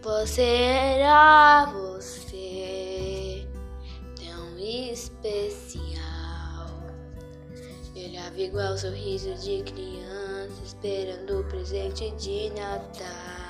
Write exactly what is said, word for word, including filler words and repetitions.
Você era você, tão especial. Eu olhava igual sorriso de criança, esperando o presente de Natal.